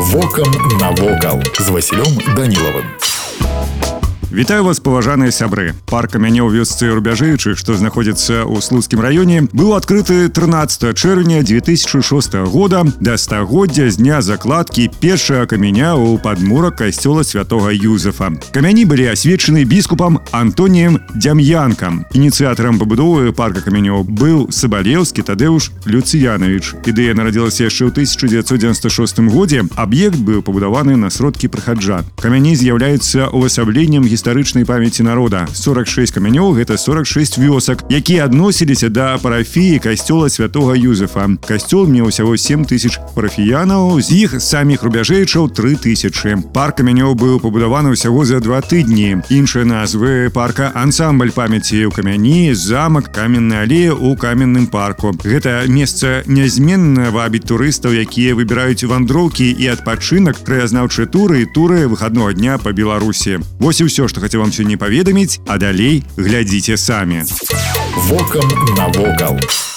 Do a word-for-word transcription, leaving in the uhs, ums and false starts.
Вокам навокал з Васілём Данілавым. Вітаю вас, паважаныя сябры. Парк камянёў вёсцы Рубяжэйчых, што знаходзіцца ў Слуцкім раёне, быў адкрыты трынаццатага чэрвеня две тысячы шостага года да стагоддзя з дня закладкі першага каменя ў падмурак касцёла святога Юзефа. Камяні былі асвечаны біскупам Антоніем Дзям'янкам. Ініцыятарам пабудовы парка камянёў быў Сабалеўскі Тадэуш Люцыянавіч. Ідэя нарадзілася яшчэ ў тысяча дзевяцьсот дзевяносто шостым годзе. Аб'ект быў пабудаваны на сродкі прыхаджан. Камяні з'яўляюцца увасабленнем гістарычнай памяці народа. сорок шесть камянёў — гэта сорок шесть вёсак, якія адносіліся да парафіі касцёла святога Юзефа. Касцёл меў усяго сем тысяч парафіянаў, з іх саміх рубяжэйчаў тры тысячы. Парк камянёў быў пабудаваны ўсяго за два тыдні. Іншыя назвы парка — ансамбль памяці ў камяні, замак, каменная алея ў каменным парку. Гэта месца нязменна вабіць турыстаў, якія выбіраюць вандроўкі і адпачынак, краязнаўчыя туры і туры выхаднога дня па Беларусі. Вось і ўсё, што хацеў вам сёння паведаміць, а далей глядзіце самі. Вокам навокал.